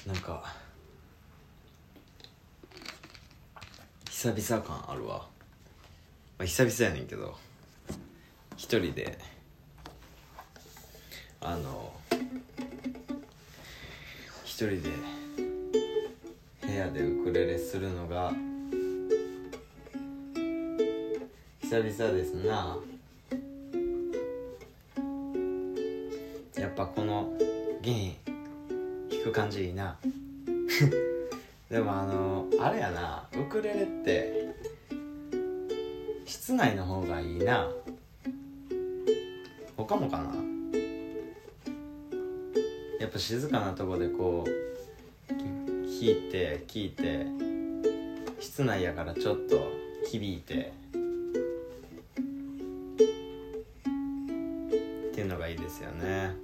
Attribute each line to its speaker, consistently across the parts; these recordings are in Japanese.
Speaker 1: なんか久々感あるわ、久々やねんけど一人で一人で部屋でウクレレするのが久々ですな。やっぱこの弦弾く感じいいなでもあれやな、ウクレレって室内の方がいいな。他もかな。やっぱ静かなとこでこう弾いて聴いて、室内やからちょっと響いてっていうのがいいですよね。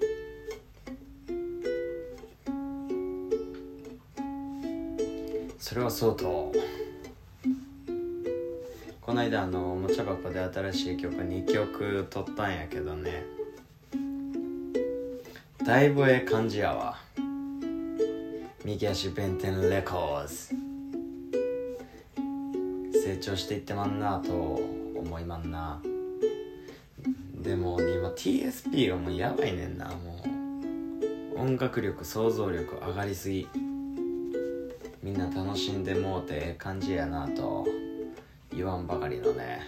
Speaker 1: それはそうと、この間おもちゃ箱で新しい曲2曲撮ったんやけどね、だいぶええ感じやわ。右足弁天レコーズ成長していってまんなと思いまんな。でも今 TSP がもうやばいねんな。もう音楽力想像力上がりすぎ、みんな楽しんでもうてええ感じやなと言わんばかりのね。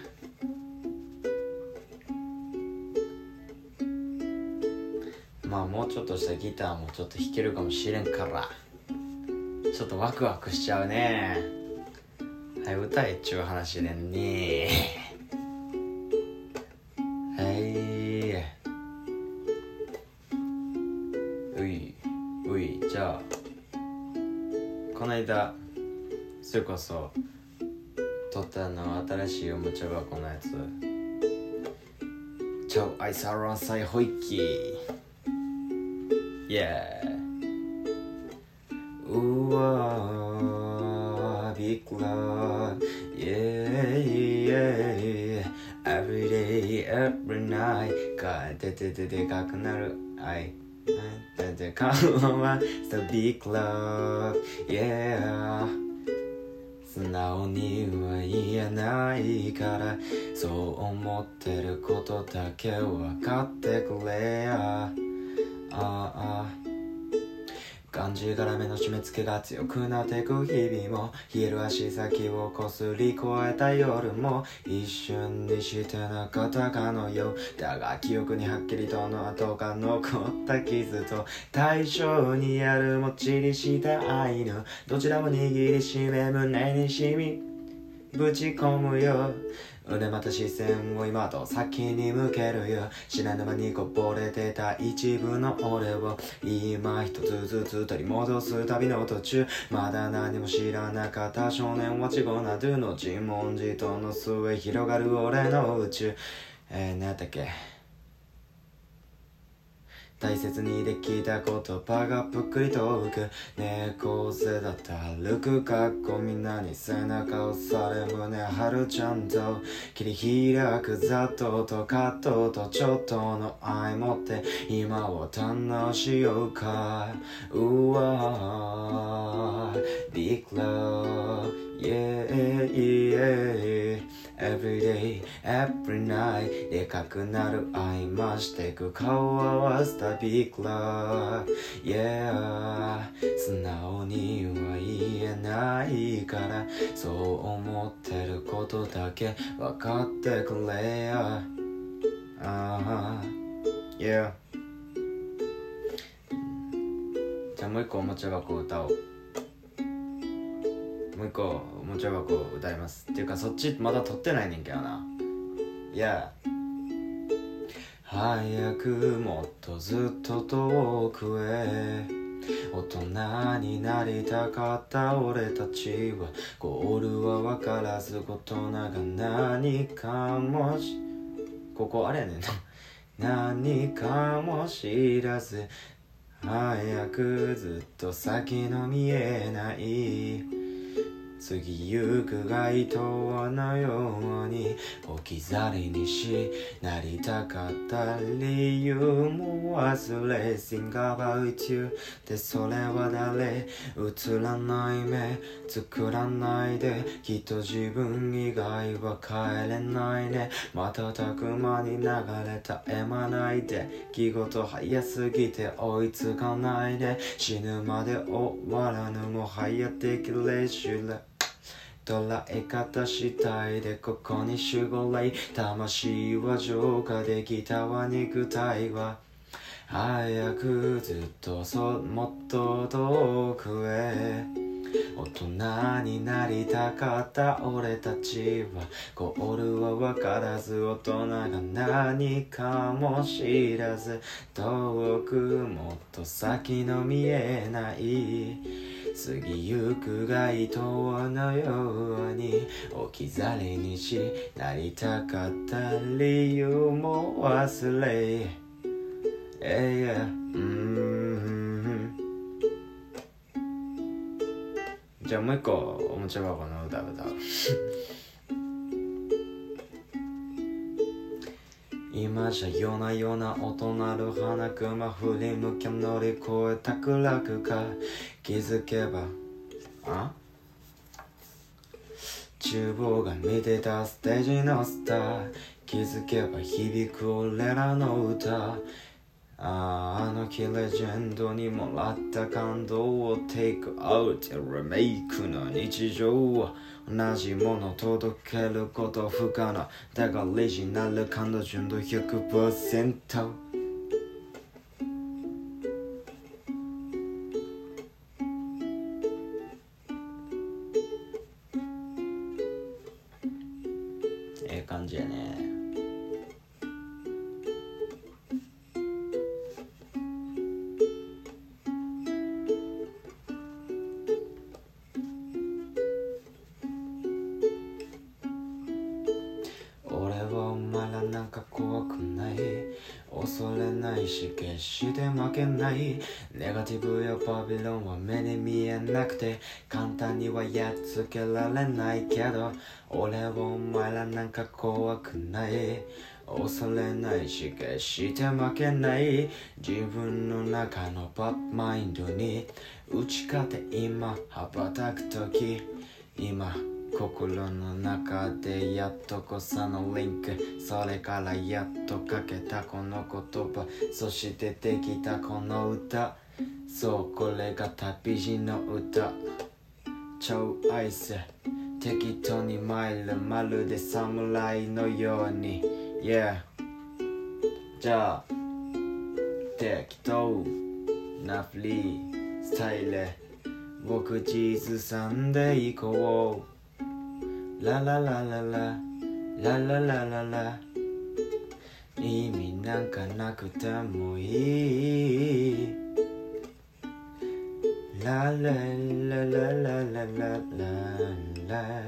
Speaker 1: まあもうちょっとしたギターもちょっと弾けるかもしれんからちょっとワクワクしちゃうね。はい、歌えっちゅう話でんね。はい、ういじゃあこの間それこそ撮った新しいおもちゃ箱のやつ、チャウアイサロンサイホイッキーイエーうわービッグラーイエーイエー Every day every night かでかくなる愛で顔は So big love yeah 素直には言えないからそう思ってることだけ分かってくれやがんじがらめの締め付けが強くなってく日々も冷える足先をこすり越えた夜も一瞬にしてなかったかのようだが記憶にはっきりとの跡が残った傷と対象にあるもっちりした愛のどちらも握りしめ胸に染みぶち込むよ腕また視線を今と先に向けるよ知らぬ間にこぼれてた一部の俺を今一つずつ取り戻す旅の途中まだ何も知らなかった少年はチゴなどの自問自答の末広がる俺の宇宙何やったっけ大切にできた言葉がぷっくりと浮く猫背だった歩く格好みんなに背中押され胸張るちゃんと切り開くざっとと葛藤とちょっとの愛持って今を堪能しようかうわ Big love yeah yeah Every day, every night でかくなる愛増してく顔合わせた Big love Yeah 素直には言えないからそう思ってることだけ分かってくれやYeah じゃあもう一個おもちゃ箱歌おう。もう一個おもちゃ箱歌いますっていうかそっちまだ撮ってないねんけどな。いや早くもっとずっと遠くへ大人になりたかった俺たちはゴールは分からず大人が何かもここあれやねんな何かも知らず早くずっと先の見えない過ぎゆく街灯のように置き去りにしなりたかった理由も忘れ Think about you でそれは誰映らない目作らないできっと自分以外は帰れないね瞬く間に流れ絶え間ないで気事早すぎて追いつかないで死ぬまで終わらぬもはやできれしれ捉え方次第でここに守護霊魂は浄化できたわ肉体は早くずっともっと遠くへ大人になりたかった俺たちはゴールは分からず大人が何かも知らず遠くもっと先の見えない過ぎゆく街灯のように置き去りにしなりたかった理由も忘れ、じゃあもう一個おもちゃ箱の歌歌う今じゃ夜な夜な音鳴る花熊振り向け乗り越えたくらくか気づけば厨房が見てたステージのスター気づけば響く俺らの歌あの日レジェンドにもらった感動をテイクアウトリメイクの日常同じもの届けること不可能だがオリジナル感度純度 100% 感じやね俺はお前らなんか怖くない恐れないし決して負けないネガティブやバビロンは目に見えなくて簡単にはやっつけられないけど俺はお前らなんか怖くない恐れないし決して負けない自分の中のバッドマインドに打ち勝て今羽ばたく時今心の中でやっとこさのリンクそれからやっと書けたこの言葉そしてできたこの歌そうこれが旅路の歌超愛せ適当に参るまるで侍のように Yeah じゃあ適当なフリースタイル僕地図さんで行こうララララララララララ意味なんかなくてもいいララララララララ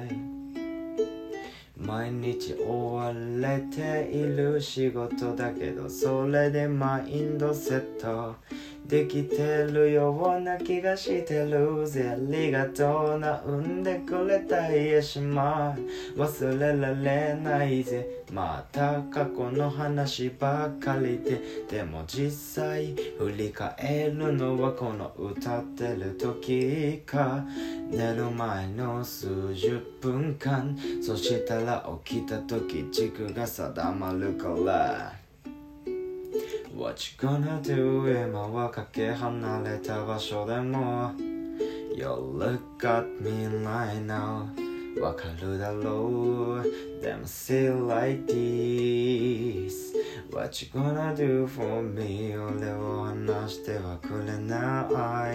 Speaker 1: 毎日追われている仕事だけどそれでマインドセットできてるような気がしてるぜありがとうな産んでくれた家島忘れられないぜまた過去の話ばかりでも実際振り返るのはこの歌ってる時か寝る前の数十分間そしたら起きた時軸が定まるからWhat you gonna do 今はかけ離れた場所でも You look at me right now わかるだろうでも still like this What you gonna do for me 俺を離してはくれない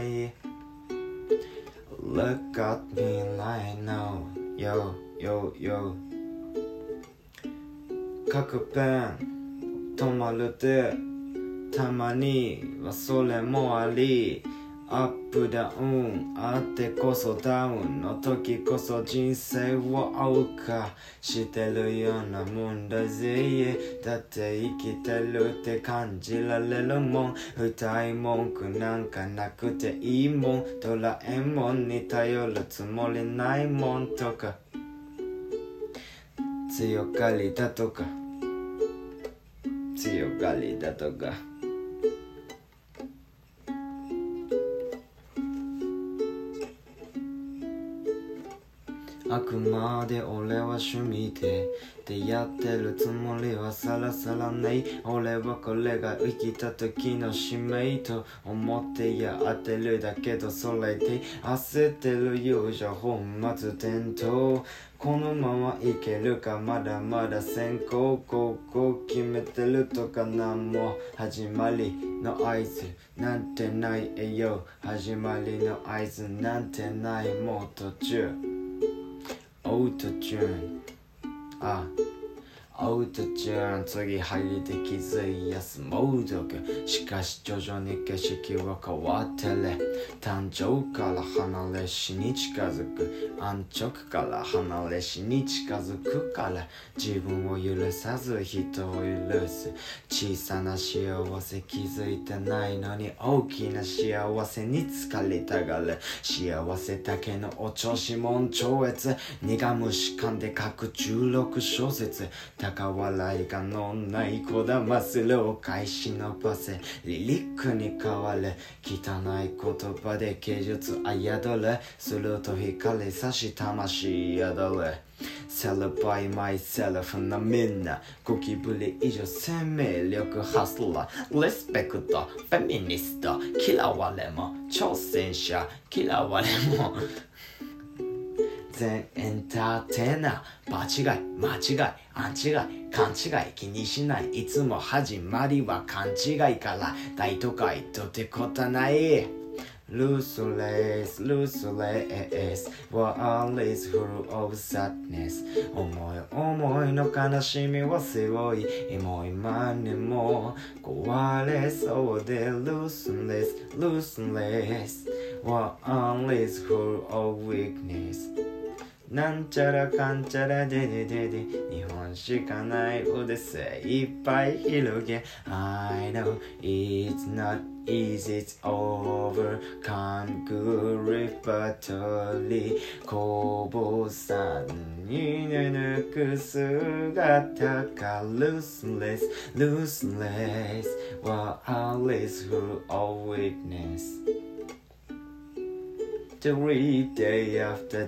Speaker 1: Look at me right now Yo yo yo 書くペン止まるでたまにはそれもありアップダウンあってこそダウンの時こそ人生を謳歌してるようなもんだぜ。だって生きてるって感じられるもん。歌い文句なんかなくていいもん。ドラえもんに頼るつもりないもんとか強がりだとか強がりだとかあくまで俺は趣味でやってるつもりはさらさらない。俺はこれが生きた時の使命と思ってやってるだけどそれで焦ってるようじゃ本末転倒。このままいけるかまだまだ先行高校決めてるとかなんも始まりの合図なんてないえよ。始まりの合図なんてないもう途中オートチューンオートチューン次入りで気づいやすモードがしかし徐々に景色は変わってる。誕生から離れ死に近づく安直から離れ死に近づくから自分を許さず人を許す。小さな幸せ気づいてないのに大きな幸せに疲れたがる。幸せだけのお調子もん超越苦虫噛んで書く16小節高笑いがのないこだまするを返し伸ばせリリックに変わる汚い言葉で芸術あやどれすると光差し魂宿るCelebrate myself なみんなゴキブリ以上生命力ハスラーリスペクトフェミニスト嫌われも挑戦者嫌われも全エンターテイナー場違い間違いアンチが勘違い気にしないいつも始まりは勘違いから大都会とてことないRuthless, ruthless, world is full of sadness 思いの悲しみは背負いもう今にも壊れそうで Ruthless, ruthless, world is full of weaknessなんちゃらかんちゃらでででで日本しかない腕精いっぱい広げ I know it's not easy it's overcome good repertory こぼさに抜く姿が Looseless, looseless World is full of weakness Every day after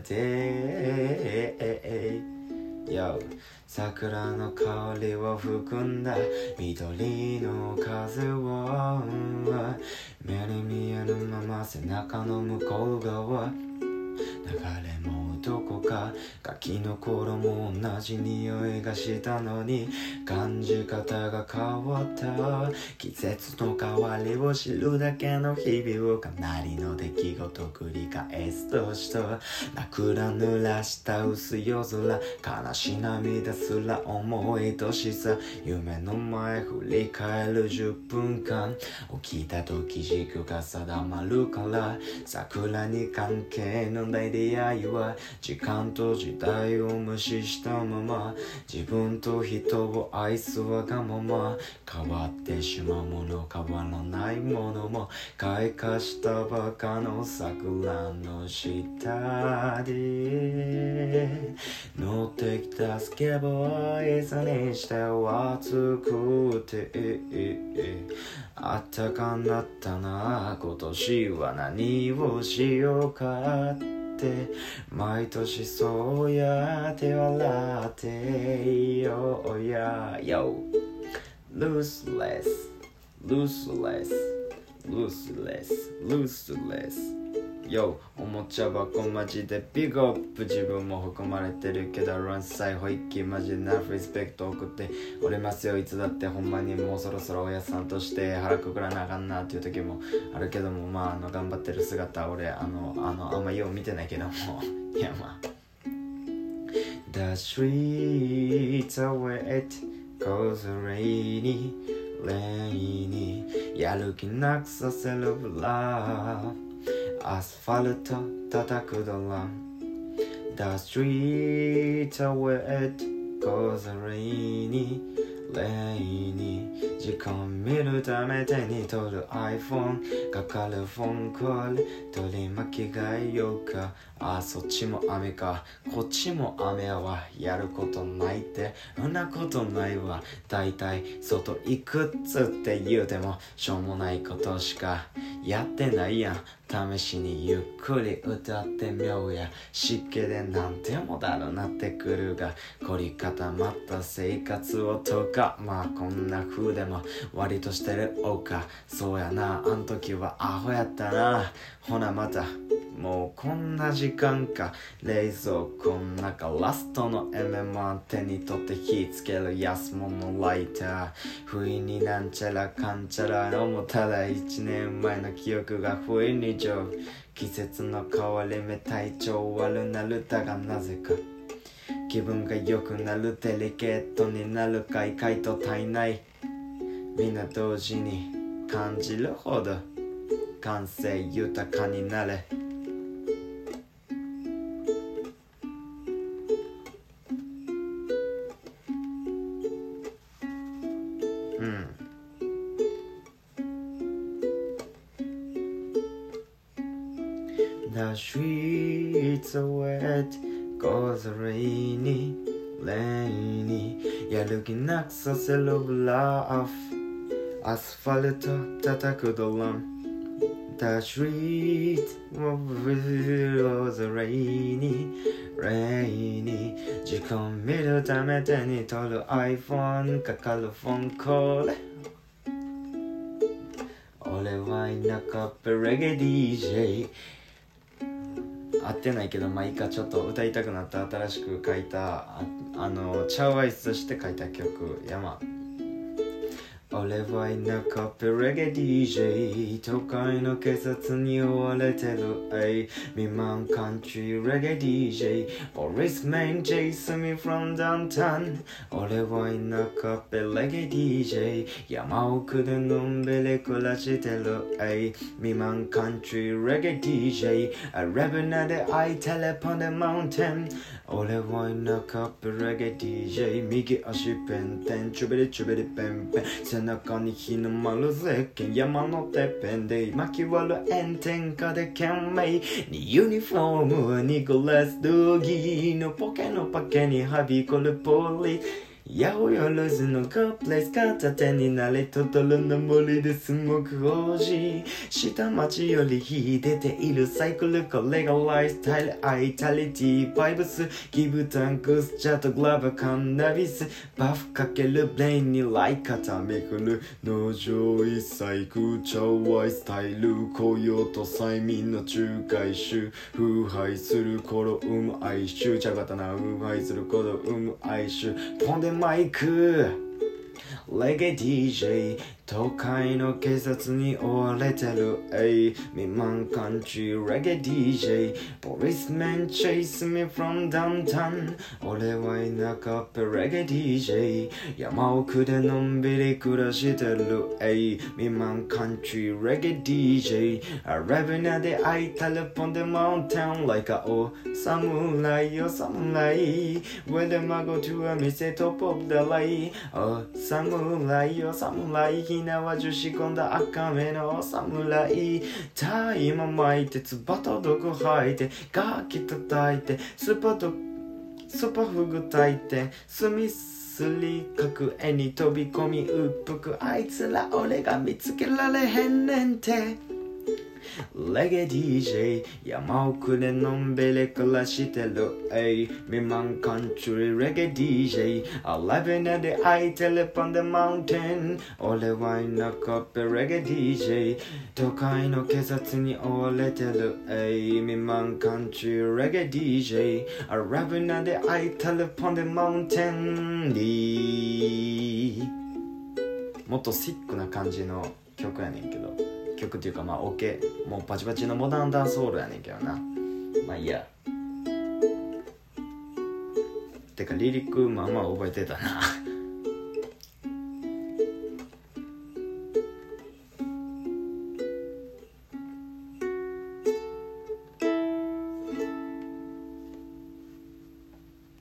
Speaker 1: day Yo 桜の香りを含んだ緑の風を目に見えるまま背中の向こう側流れもどこかガキの頃も同じ匂いがしたのに感じ方が変わった季節の変わりを知るだけの日々をかなりの出来事繰り返すとした枕濡らした薄夜空悲し涙すら重い年さ夢の前振り返る10分間起きた時軸が定まるから桜に関係のない出会いは時間と時代を無視したまま自分と人を愛すわがまま変わってしまうもの変わらないものも開花したばかの桜の下で乗ってきたスケボー椅子にしては暑くてあったかなったな今年は何をしようか毎年そうやって笑っていようや Yo Looseless Looseless Looseless Looseless Yo おもちゃ箱マジでビッグアップ自分も含まれてるけどランサイホイッキーマジでナフリスペクト送っておりますよいつだってほんまにもうそろそろおやさんとして腹くくらなあかんなっていう時もあるけどもまあ頑張ってる姿俺あんまよう見てないけどもいやまあ The streets are wet cause rainy やる気なくさせるブラアスファルト叩くドラム The streets are wet cause rainy 時間見るため手に取る iPhone かかるフォンコール取り巻き替えようかそっちも雨かこっちも雨はやることないってそんなことないわだいたい外行くっつって言うてもしょうもないことしかやってないやん試しにゆっくり歌ってみようや湿気でなんでもだろなってくるが凝り固まった生活をとかまあこんな風でも割としてるおかそうやなあん時はアホやったなほなまたもうこんな時間か冷蔵庫の中ラストの MM 手に取って火つける安物ライター不意になんちゃらかんちゃらのもただ1年前の記憶が不意に上季節の変わり目体調悪なるだがなぜか気分が良くなるデリケートになるかいかいと体内みんな同時に感じるほど感性豊かになれThe streets are wet cause rainy やる気なくさせるブラフアスファルト叩くドラム The streets was rainy 時間見るため手に取る iPhone かかるフォンコール俺は田舎っぺレゲエ DJ 合ってないけどまあいいかちょっと歌いたくなった新しく書いたチャウアイスとして書いた曲山俺は田舎っぺレゲエ DJ 都会の警察に追われてる未満カントリーレゲエ DJ Policeman chase me from downtown 俺は田舎っぺレゲエ DJ 山奥でのんびり暮らしてる未満カントリーレゲエ DJ RavenaでI telepon the mountain 俺は田舎っぺレゲエ DJ 右足ペンテンチュベリチュベリペンペン背中に日の丸ゼッケン山のてっぺんで巻き割る炎天下で懸命にユニフォームはニコラス・ドギーのポケのパケにはびこるポリ八百万のカプレス片手になれトトロの森でスモーク王子下町より秀でているサイクルこれがライフスタイルアイタリティバイブスギブタンクスチャートグラブカンナビスバフかけるブレインにライカタめくる農場一切空調ワイスタイル雇用と催眠の仲介種腐敗する頃生む哀愁茶刀腐敗する頃生む哀愁ポンデマイクレゲエ DJ 都会の警察に追われてる未満カントリーレゲエ DJ Policeman chase me from downtown 俺は田舎っぺレゲエ DJ 山奥でのんびり暮らしてる未満カントリーレゲエ DJ Ravenaで I telepon the mountain like a samurai samurai Wherever I go to a店top of the line samurai samuraiひなわ樹仕込んだ赤目の侍大麻巻いてつばと毒吐いて楽器叩いてスパフグ炊いて墨すりかく絵に飛び込みうっぷくあいつら俺が見つけられへんねんてレゲエ DJ 山奥でのんびり暮らしてる未満カントリーレゲエ DJ Ravenaで I telepon the mountain 俺は田舎っぺレゲエ DJ 都会の警察に追われてる未満カントリーレゲエ DJ Ravenaで I telepon the mountain もっとシックな感じの曲やねんけど曲っていうかまあオケもうバチバチのモダンダンスホールやねんけどなまあいいやてかリリックまあまあ覚えてたな